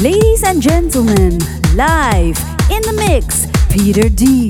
Ladies and gentlemen, live in the mix, Peter D.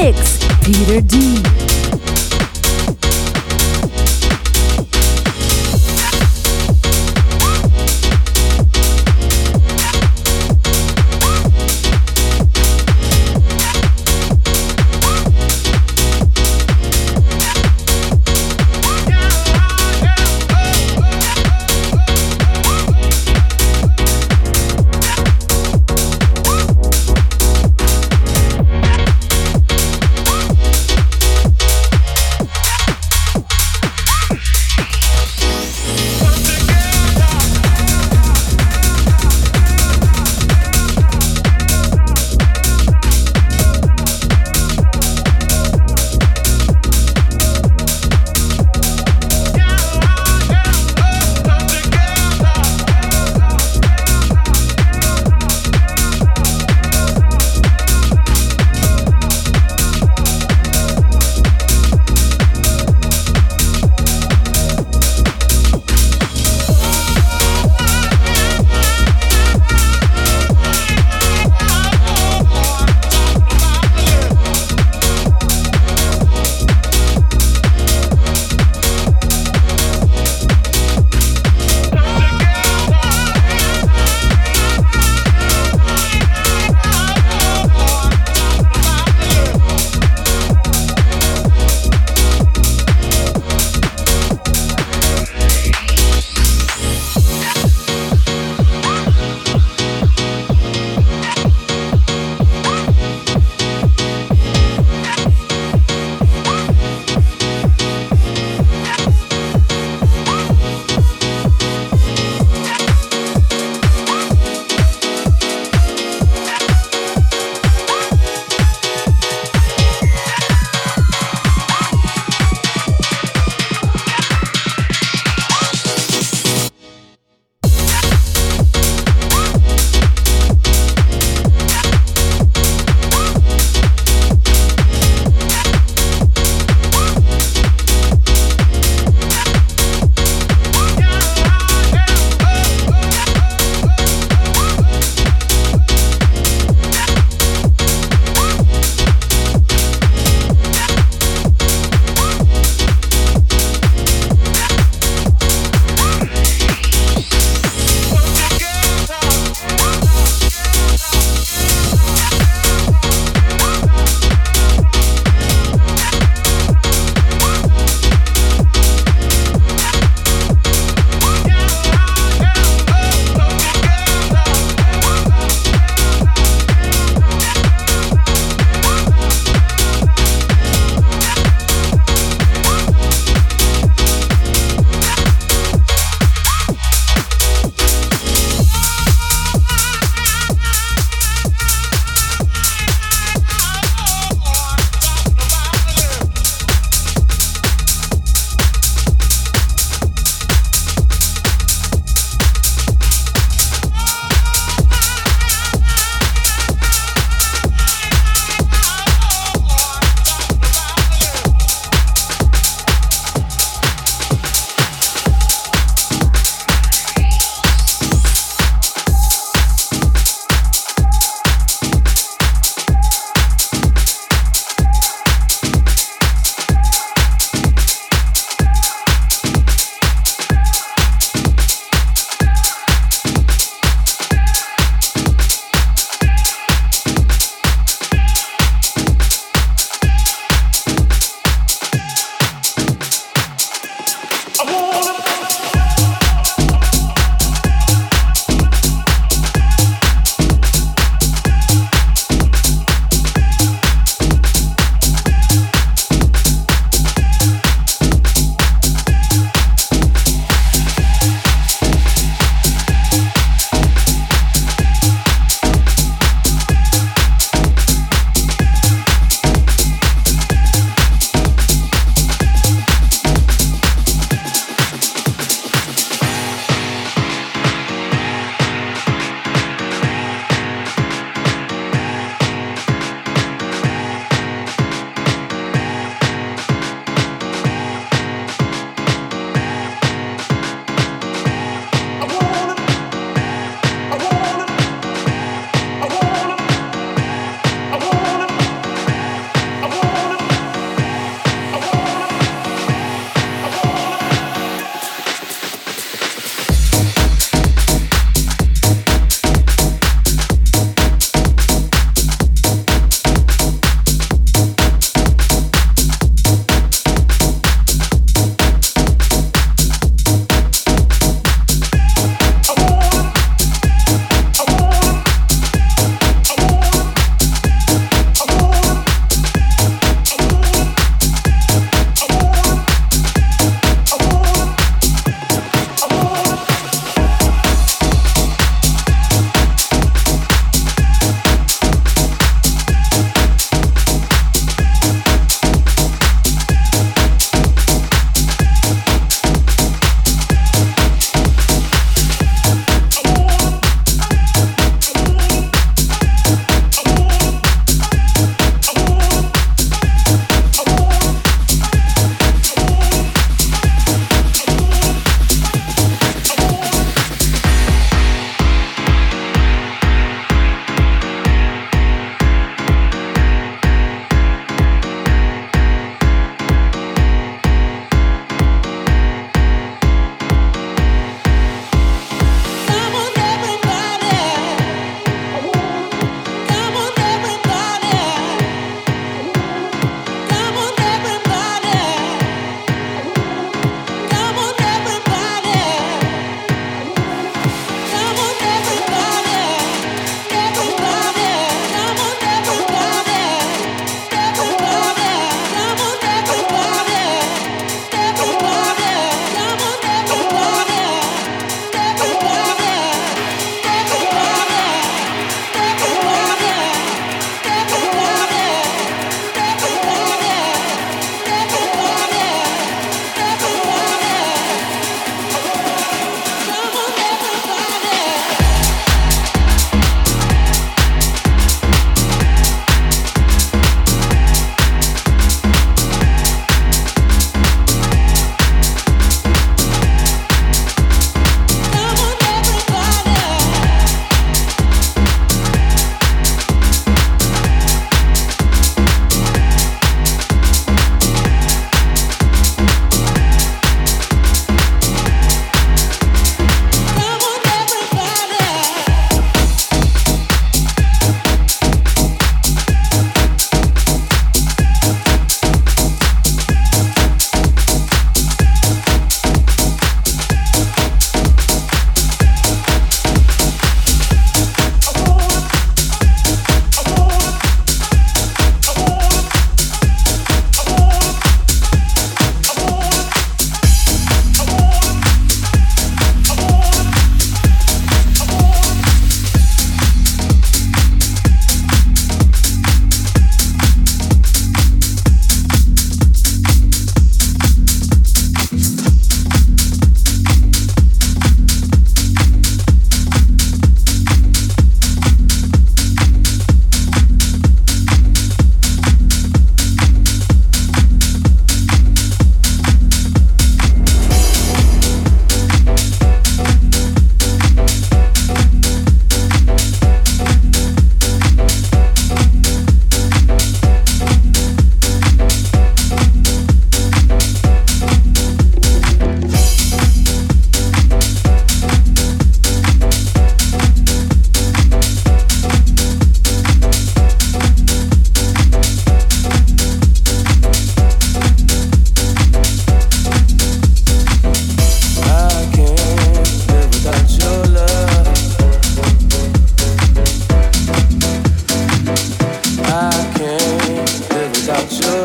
mix, Peter D.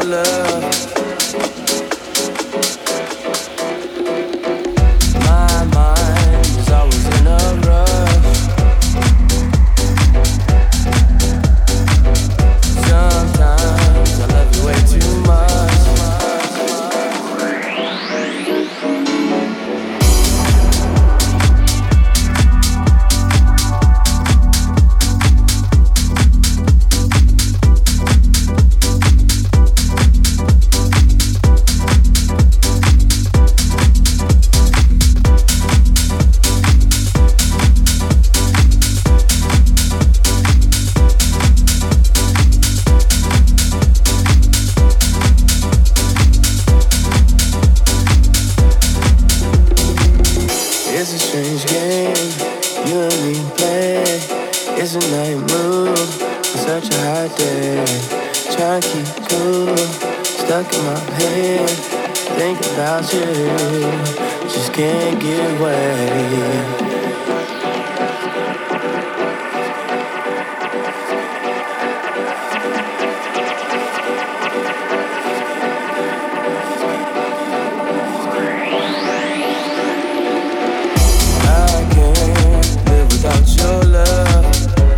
love. My mind is always in a rush. Sometimes I love you way too much. It's a strange game you and me play. It's a night move on such a hot day. Trying to keep cool, stuck in my head. Think about you, just can't get away. Your love,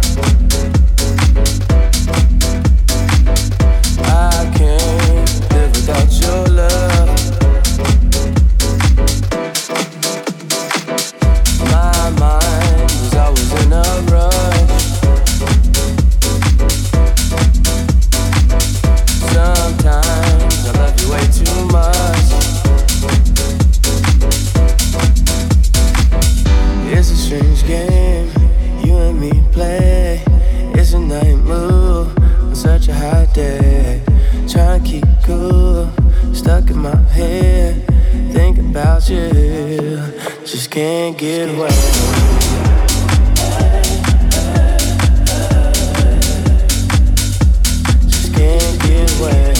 I can't live without your love. My mind is always in a rush. Sometimes I love you way too much. It's a strange game you and me play. It's a night move on such a hot day. Trying to keep cool, stuck in my head. Think about you, just can't get away. Just can't get away.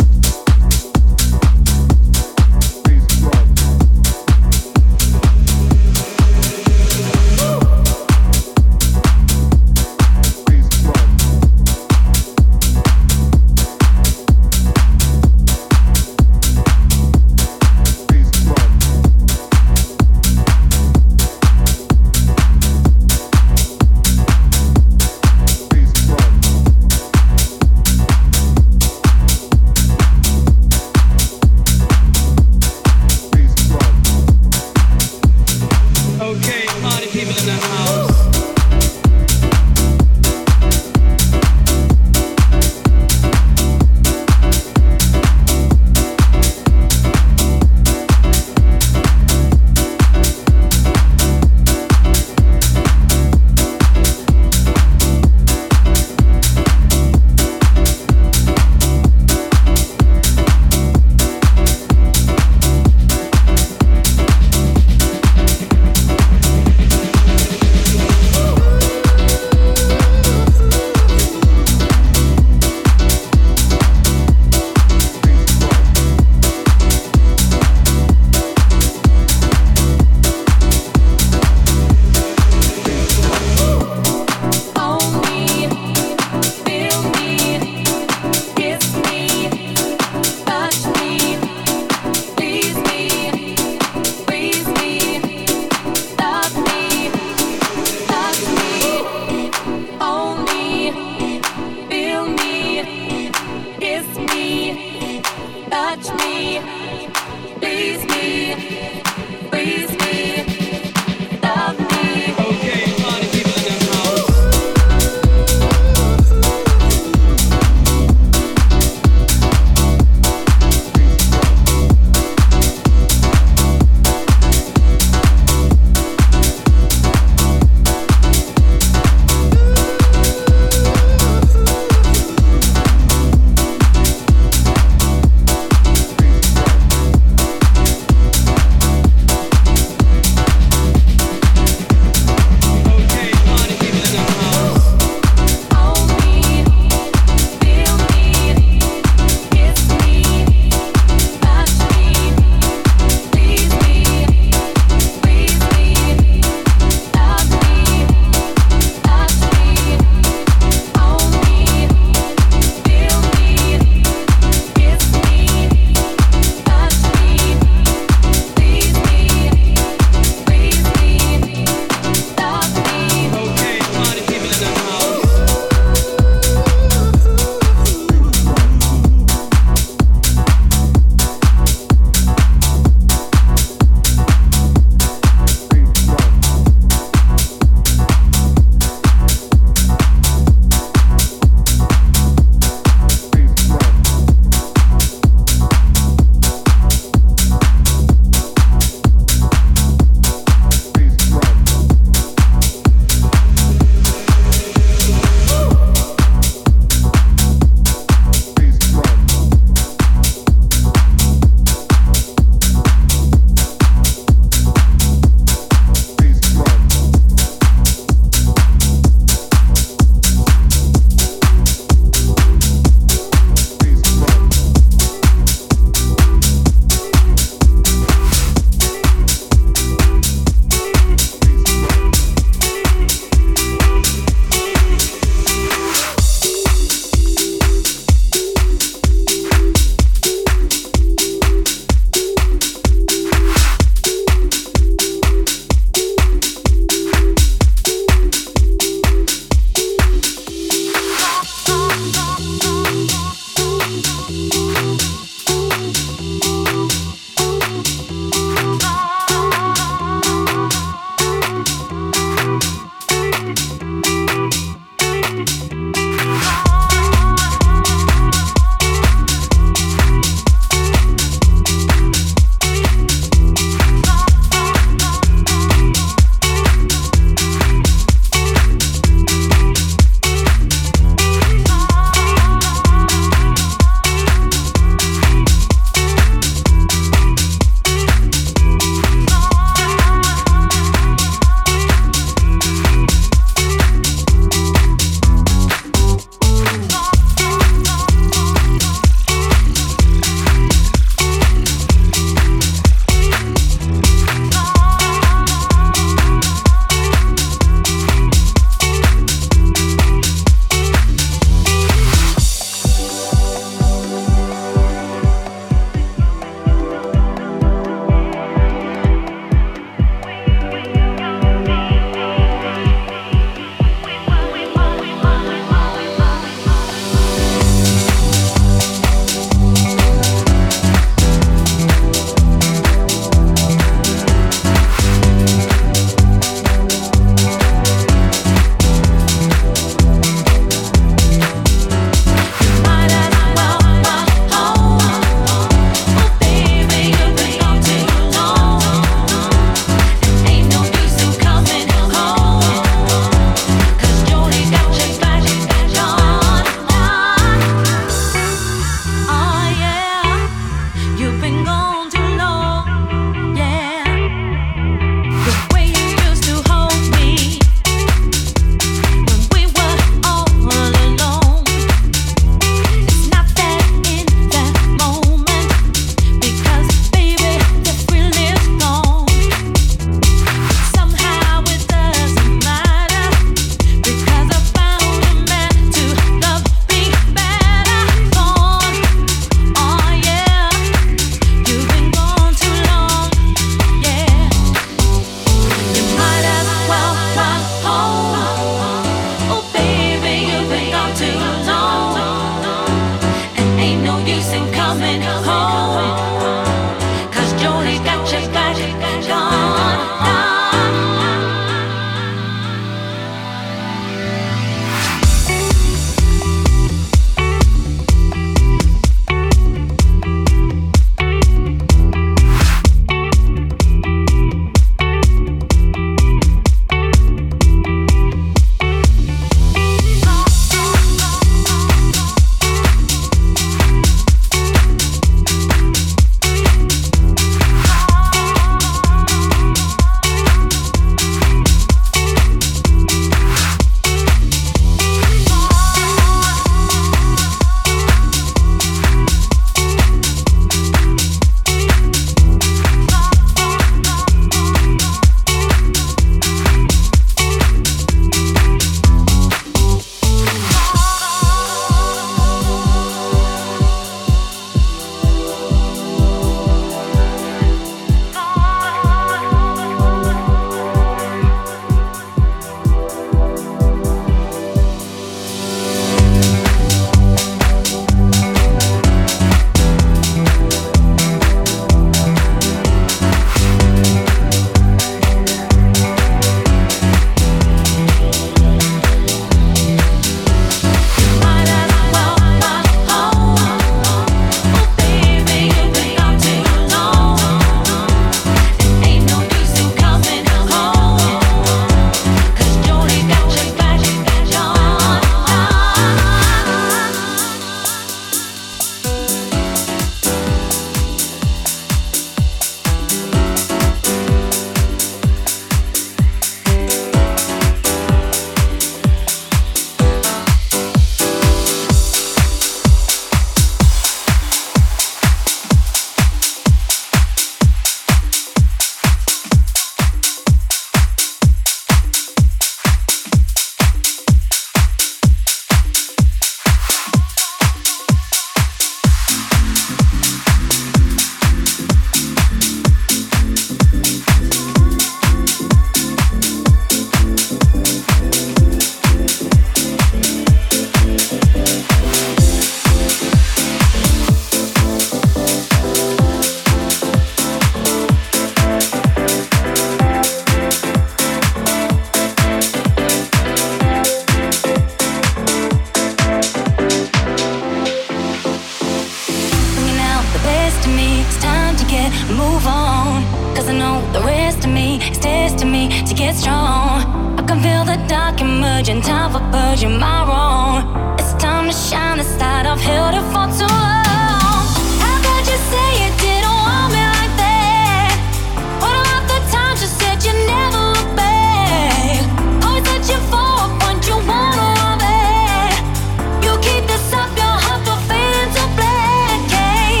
It's testing me to get strong. I can feel the dark emerging, time for purging my wrong. It's time to shine this light, I've held it for too long. How could you say you didn't want me like that? What about the times you said you never look back? Always searching for a point you wanna love it. You keep this up, your heart will fade into black, yeah.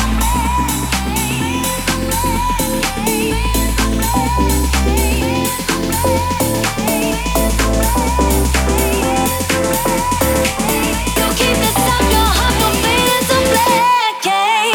You keep this up, your heart will fade into black, yeah.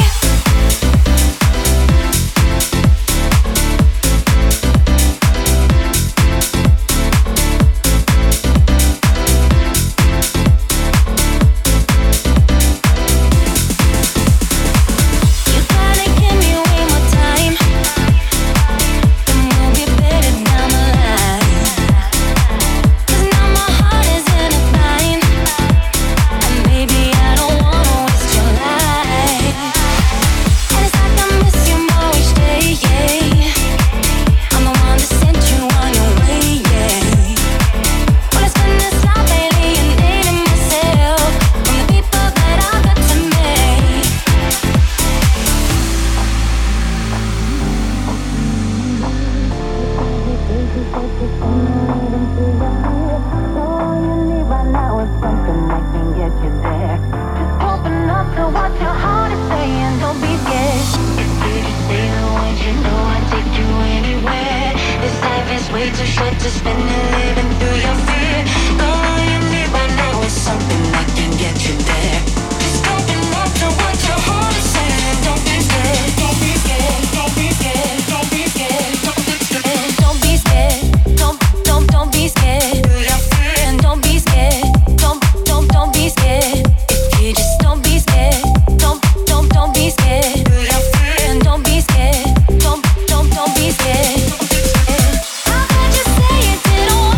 You gotta give me way more time, and we'll get better down the line. 'Cause now my heart is in a bind, and baby I don't wanna waste your life. And it's like I miss you more each day, yeah. I'm the one that sent you on your way, yeah. Well, it's been this long lately, alienating myself from the people that I got to make. All you need right now is something that can get you there. Just open up to what your heart is saying. Don't be scared. If you just stay the one, you know I'd take you anywhere. This life is way too short to spend it living through your fear. All you need right now is something that can get you there. Just open up to what your heart is saying. Don't be scared. Don't be scared. Don't be scared. Don't be scared. Don't be scared. Don't be scared. Don't be scared. And don't be scared. Don't be scared. If you just don't be scared. Don't be scared. And don't be scared. Don't be scared. How could you say you didn't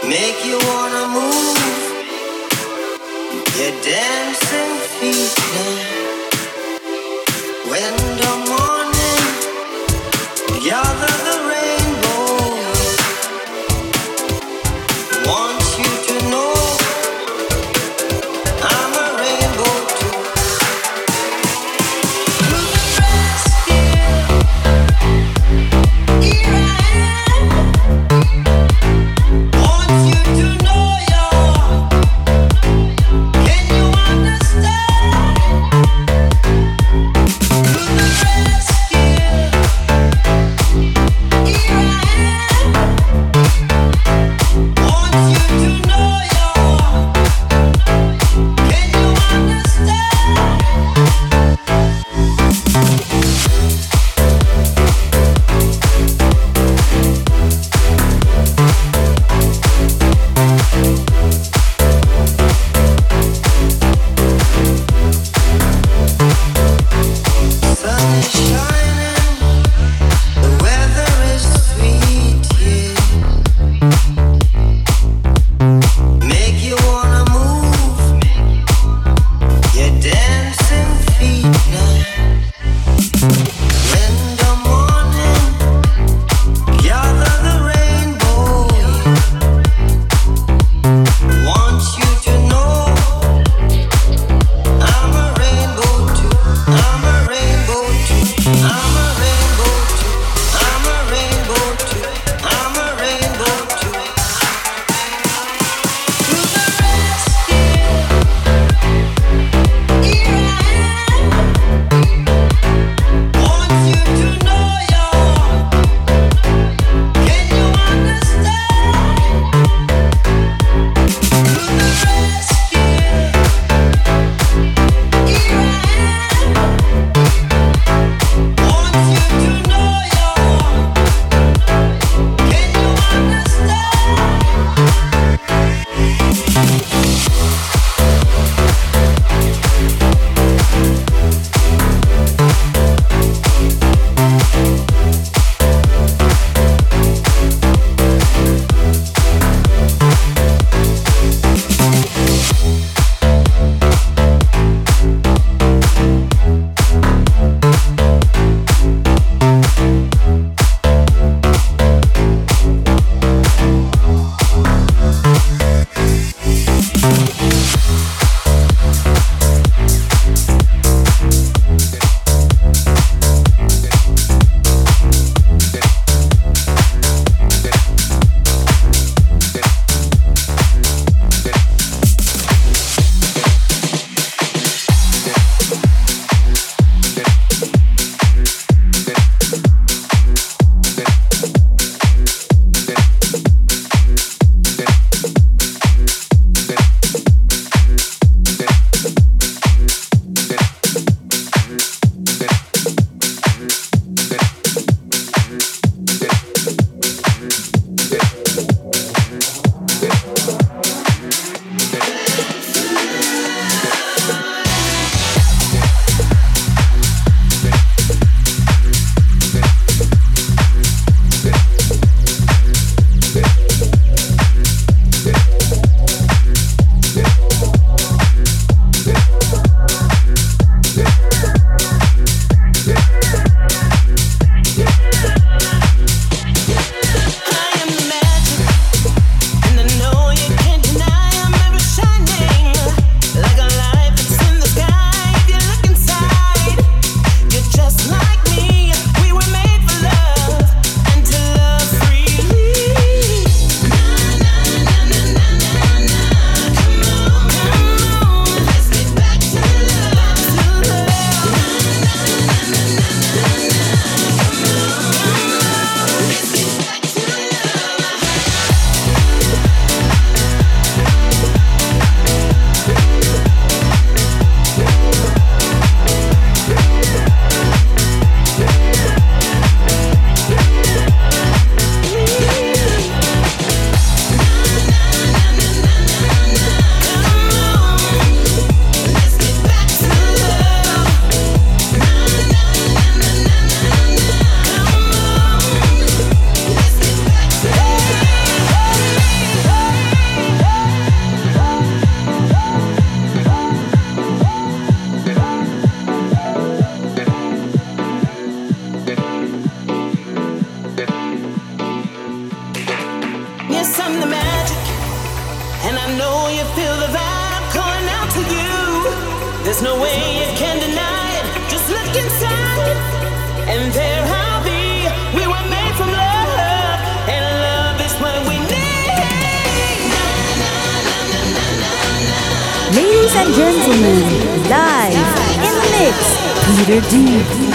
make you wanna move your dancing feet now. When the morning gather the rainbow, want you to know I'm a rainbow too. To the rescue, here I am. Want you to know you're. Can you understand? I'm the magic, and I know you feel the vibe calling out to you. There's no way you can deny it. Just look inside, and there I'll be. We were made from love, and love is what we need. Ladies and gentlemen, live in the mix, Peter D.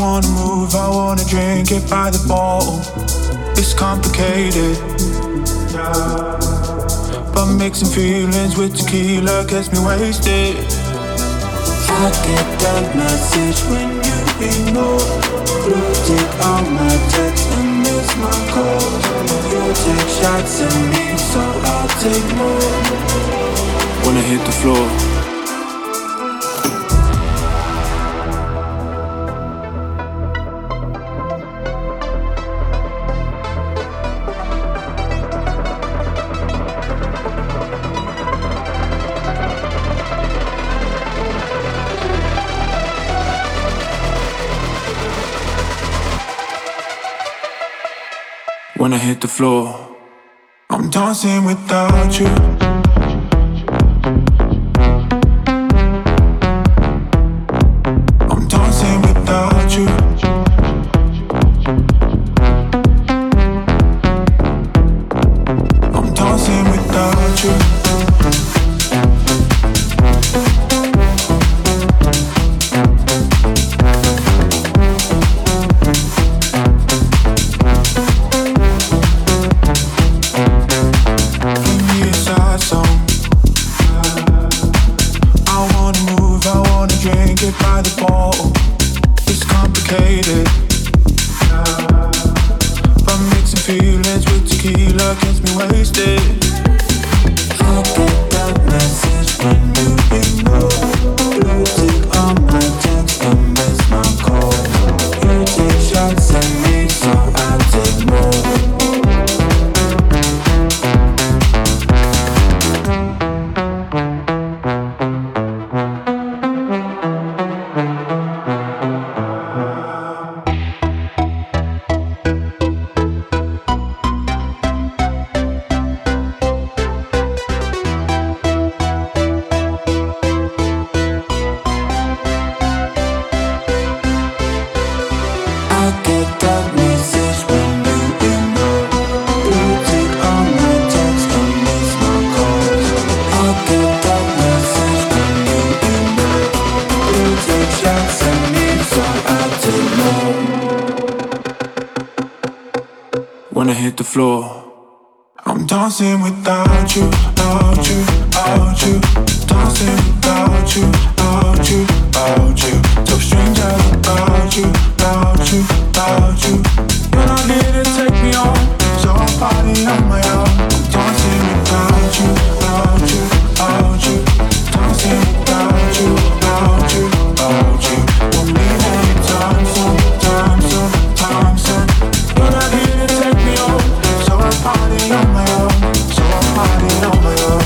wanna move, I wanna drink it by the bottle. It's complicated, but mixing feelings with tequila gets me wasted. I get that message when you ignore. Blue tick on my text and miss my calls. You take shots at me, so I'll take more. Wanna hit the floor. When I hit the floor, I'm dancing without you. I'm dancing without you. I'm dancing without you. By the bottle, it's complicated, but mixing feelings with tequila gets me wasted. I get that message when you ignore. Blue tick on my text and miss my call. You take shots at me, so I take more. When I hit the floor, I'm dancing without you, without you, without you. Dancing without you, without you, without you. So stranger without you, without you, without you. You're not here to take me on, so I'll party on my own. I'm dancing without you, without you, without you. Dancing without you, without you, without you. Won't leave anytime soon, time soon, time soon. You're not here to take me on, so I'll party on my own, so I'll party on my own.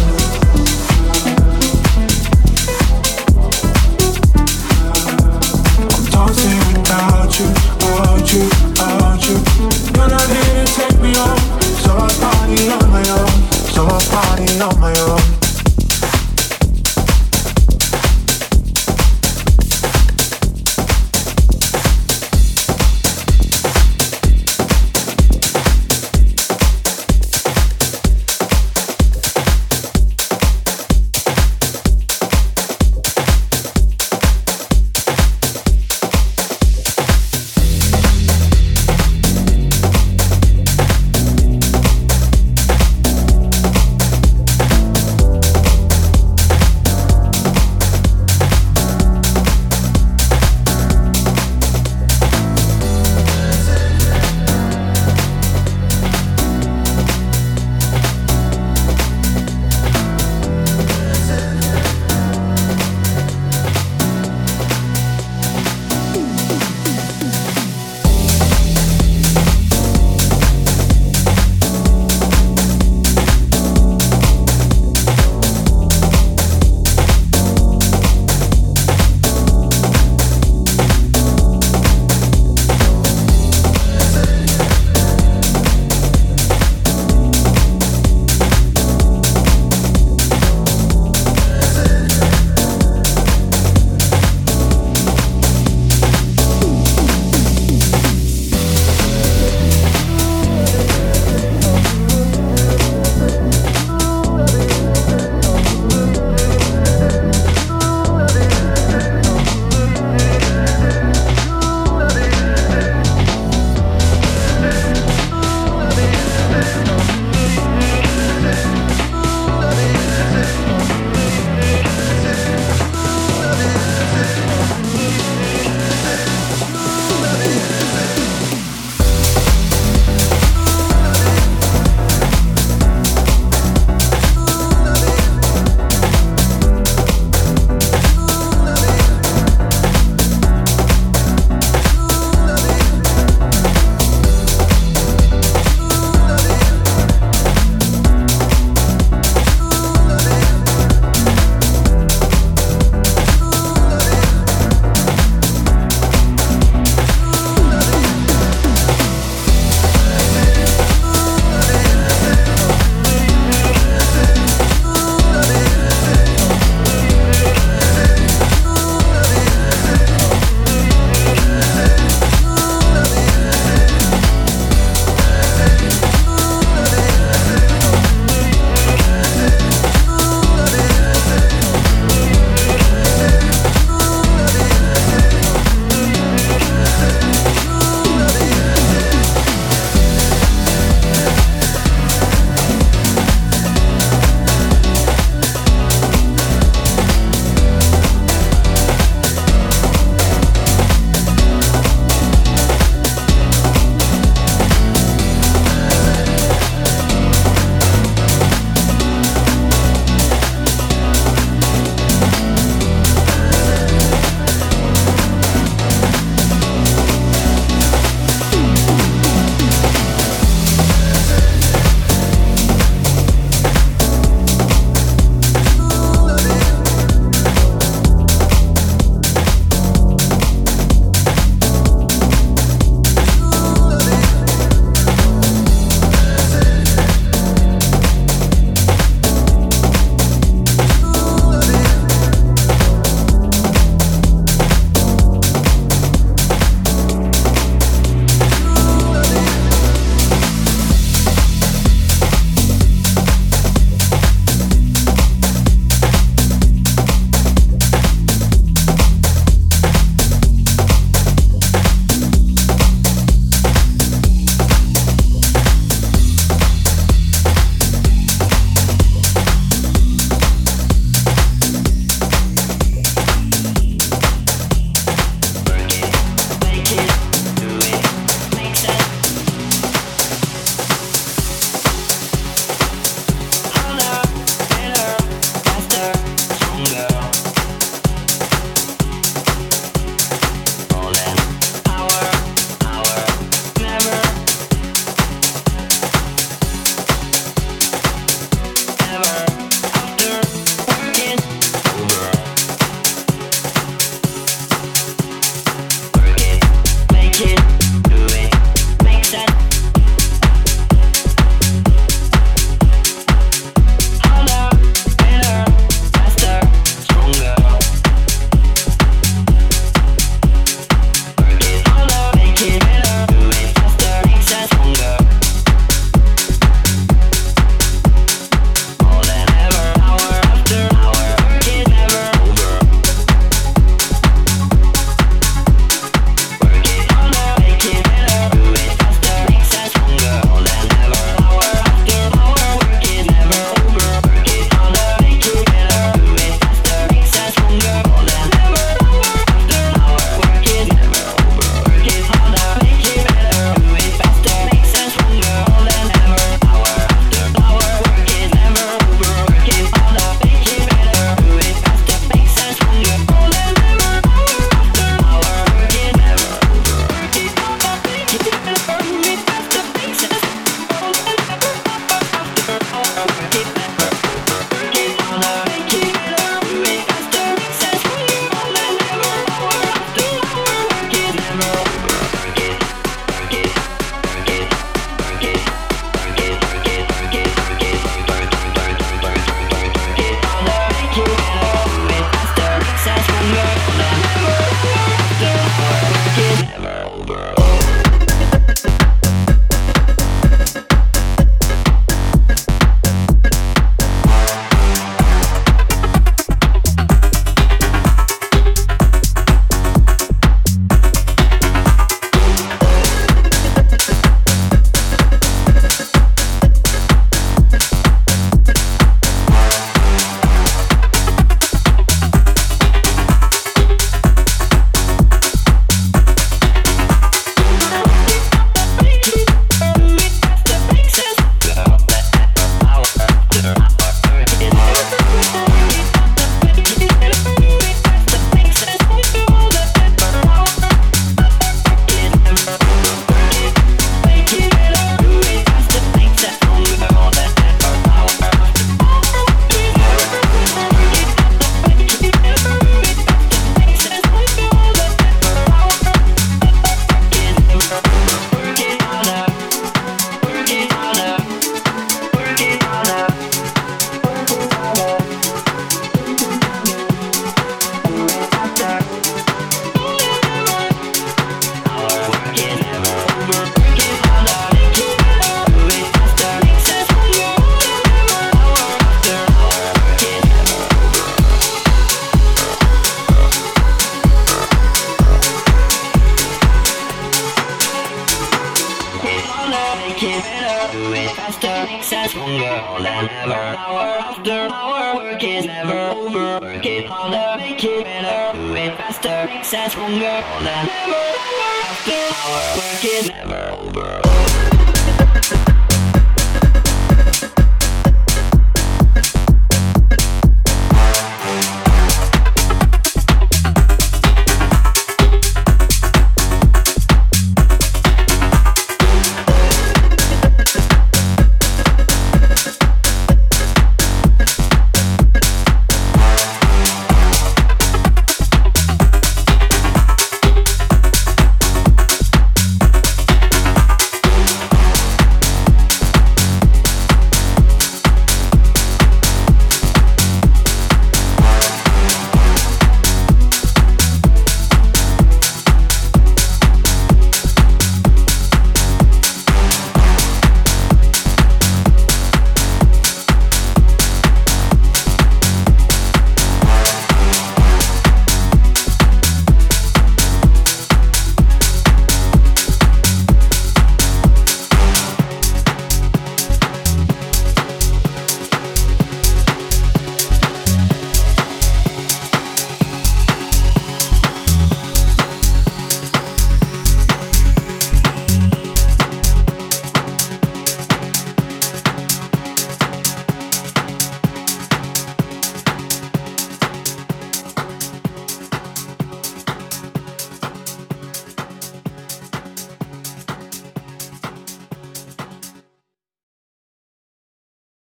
better, do it faster, successful girl than ever. Hour after hour, work is never over. Work it harder, make it better, do it faster, successful girl than ever. Hour after hour, work is never over.